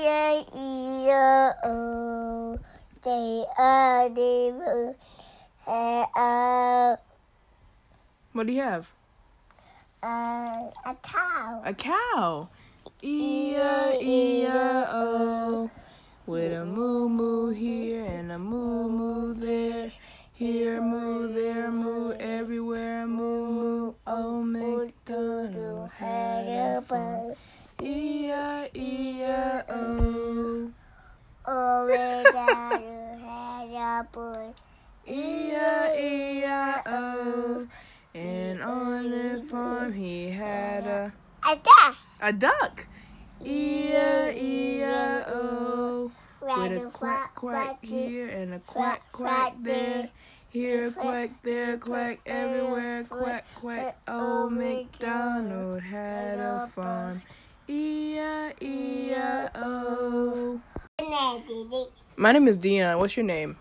E-I-E-I-O. J-O-D-O. What do you have? A cow. A cow. E-I-E-I-O. With a moo-moo here and a moo-moo there. Here, moo, there, moo, everywhere, moo-moo. Old MacDonald had a farm. E-I-E-I-O. Old MacDonald had a boy. E-I-E-I-O. And on the farm he had A duck. a duck. E-I-E-I-O. With a quack, quack here and a quack, quack there. Here, quack, there, quack, everywhere, quack, quack. Old MacDonald had a farm. E-I-E-I-O. My name is Dion. What's your name?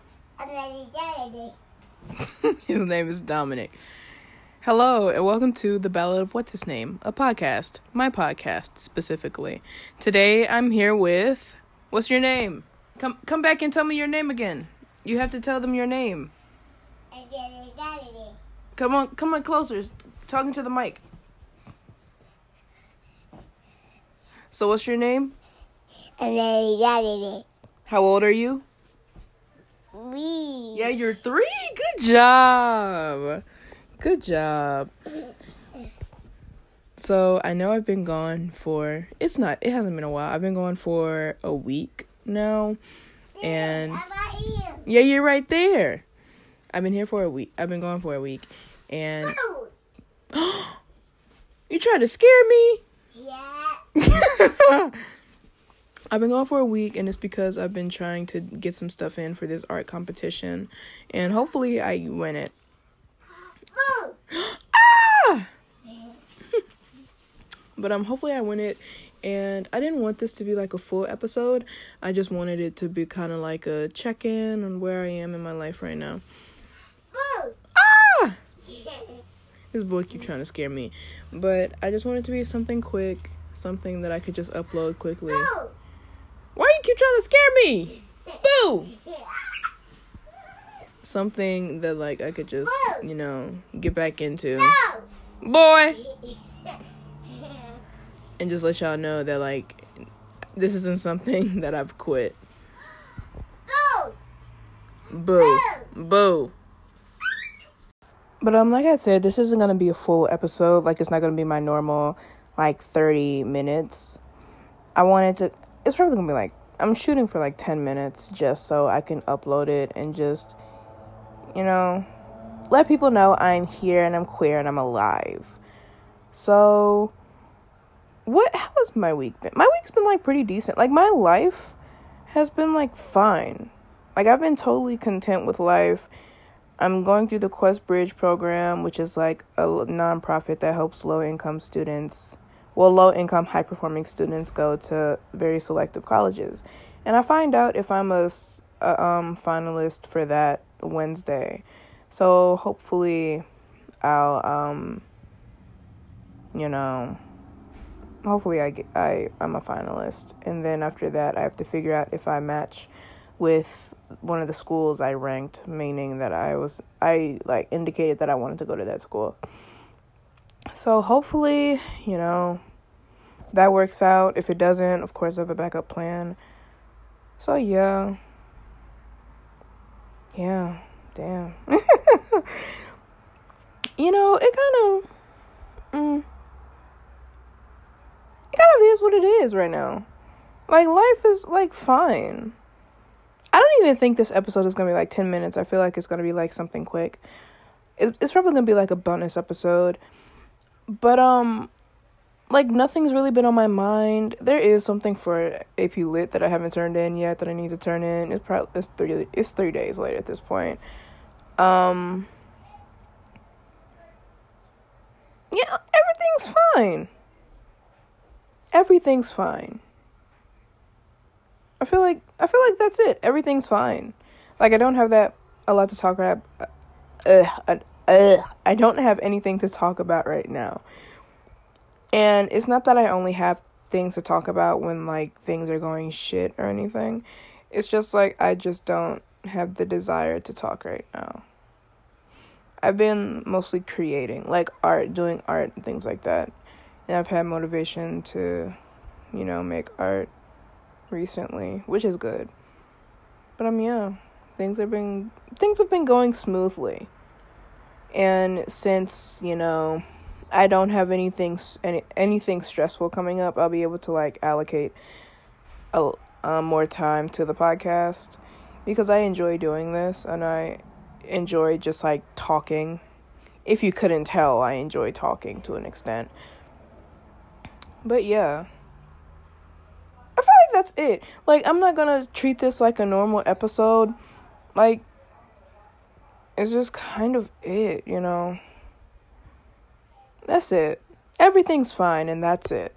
His name is Dominic. Hello, and welcome to The Ballad of What's His Name, a podcast. My podcast, specifically. Today, I'm here with... What's your name? Come back and tell me your name again. You have to tell them your name. Come on closer. Talking to the mic. So what's your name? How old are you? 3. Yeah, you're 3. Good job. Good job. So I know I've been gone for, it hasn't been a while. I've been gone for a week now. And yeah, you're right there. I've been here for a week. I've been gone for a week. And you tried to scare me? Yeah. I've been gone for a week, and it's because I've been trying to get some stuff in for this art competition. And hopefully I win it. Ah! But hopefully I win it. And I didn't want this to be like a full episode. I just wanted it to be kind of like a check-in on where I am in my life right now. Ah! This boy keeps trying to scare me. But I just want it to be something quick. Something that I could just upload quickly. Why you keep trying to scare me? Boo! Something that like I could just, get back into. Boy! And just let y'all know that, like, this isn't something that I've quit. Boo. Boo. But, like I said, this isn't going to be a full episode. Like, it's not going to be my normal, 30 minutes. It's probably going to be, I'm shooting for, 10 minutes just so I can upload it and just, let people know I'm here and I'm queer and I'm alive. So... how has my week been? My week's been, pretty decent. My life has been, fine. I've been totally content with life. I'm going through the Quest Bridge program, which is, a nonprofit that helps low-income, high-performing students go to very selective colleges. And I find out if I'm a finalist for that Wednesday. So, hopefully, I'm a finalist. And then after that, I have to figure out if I match with one of the schools I ranked, meaning that I indicated that I wanted to go to that school. So hopefully, that works out. If it doesn't, of course, I have a backup plan. So yeah. Yeah, damn. It kind of is what it is right now. Life is, fine. I don't even think this episode is going to be, 10 minutes. I feel like it's going to be, something quick. It's probably going to be, a bonus episode. But, nothing's really been on my mind. There is something for AP Lit that I haven't turned in yet that I need to turn in. It's 3 days later at this point. Yeah, everything's fine. Everything's fine. I feel like that's it. Everything's fine. I don't have a lot to talk about. I don't have anything to talk about right now. And it's not that I only have things to talk about when like things are going shit or anything. It's just like I just don't have the desire to talk right now. I've been mostly creating, like art, doing art and things like that. And I've had motivation to, make art recently, which is good. But yeah, things have been going smoothly. And since, I don't have anything stressful coming up, I'll be able to like allocate more time to the podcast, because I enjoy doing this and I enjoy just like talking. If you couldn't tell, I enjoy talking to an extent. But yeah, I feel like that's it. Like, I'm not gonna treat this like a normal episode. Like, it's just kind of it, That's it. Everything's fine, and that's it.